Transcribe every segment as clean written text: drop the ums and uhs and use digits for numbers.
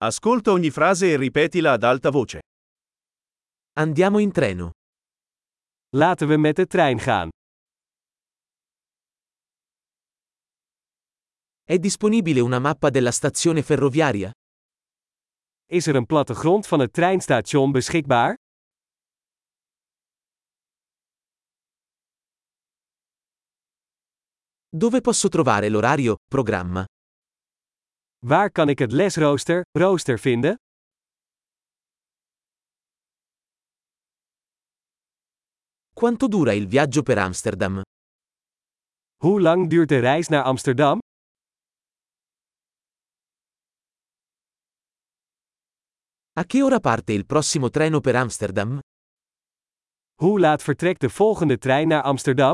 Ascolta ogni frase e ripetila ad alta voce. Andiamo in treno. Laten we met de trein gaan. È disponibile una mappa della stazione ferroviaria? Is er een plattegrond van het treinstation beschikbaar? Dove posso trovare l'orario, programma? Waar kan ik het rooster vinden? Quanto dura il viaggio per Amsterdam? Hoe lang duurt de reis naar Amsterdam? A che ora parte il prossimo treno per Amsterdam? Hoe laat vertrekt de volgende trein naar Amsterdam?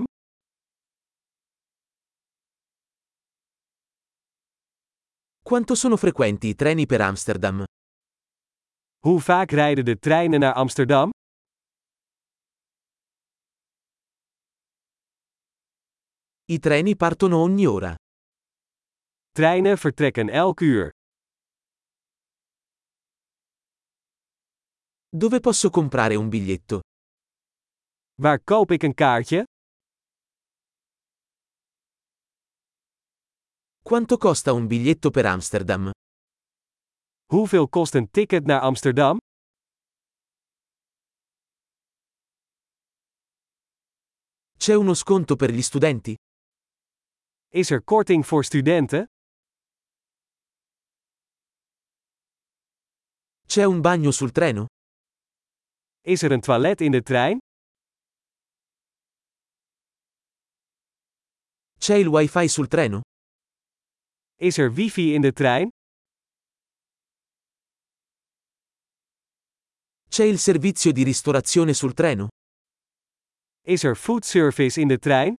Quanto sono frequenti i treni per Amsterdam? Hoe vaak rijden de treinen naar Amsterdam? I treni partono ogni ora. Treinen vertrekken elk uur. Dove posso comprare un biglietto? Waar koop ik een kaartje? Quanto costa un biglietto per Amsterdam? Hoeveel kost een ticket naar Amsterdam? C'è uno sconto per gli studenti? Is er korting voor studenten? C'è un bagno sul treno? Is er een toilet in de trein? C'è il wifi sul treno? Is er wifi in de trein? C'è il servizio di ristorazione sul treno? Is er food service in de trein?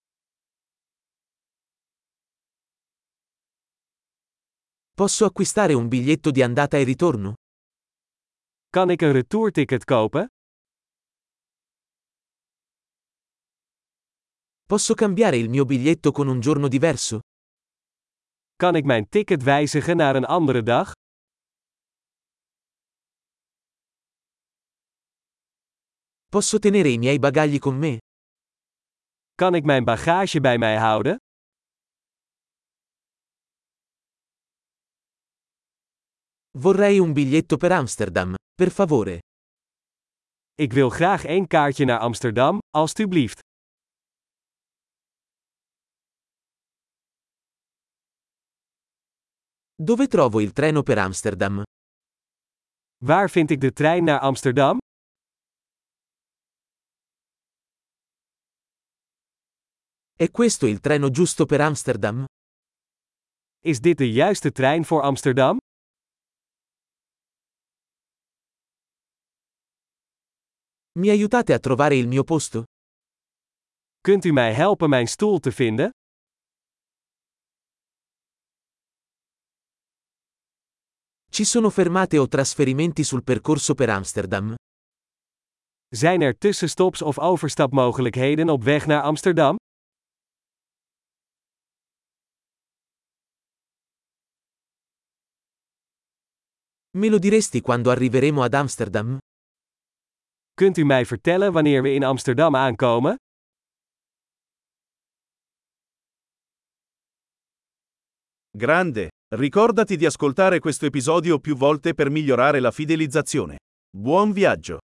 Posso acquistare un biglietto di andata e ritorno? Kan ik een retourticket kopen? Posso cambiare il mio biglietto con un giorno diverso? Kan ik mijn ticket wijzigen naar een andere dag? Posso tenere i miei bagagli con me? Kan ik mijn bagage bij mij houden? Vorrei un biglietto per Amsterdam, per favore. Ik wil graag één kaartje naar Amsterdam, alstublieft. Dove trovo il treno per Amsterdam? Waar vind ik de trein naar Amsterdam? È questo il treno giusto per Amsterdam? Is dit de juiste trein voor Amsterdam? Mi aiutate a trovare il mio posto? Kunt u mij helpen mijn stoel te vinden? Ci sono fermate o trasferimenti sul percorso per Amsterdam? Zijn er tussenstops of overstapmogelijkheden op weg naar Amsterdam? Me lo diresti quando arriveremo ad Amsterdam? Kunt u mij vertellen wanneer we in Amsterdam aankomen? Grande! Ricordati di ascoltare questo episodio più volte per migliorare la fidelizzazione. Buon viaggio!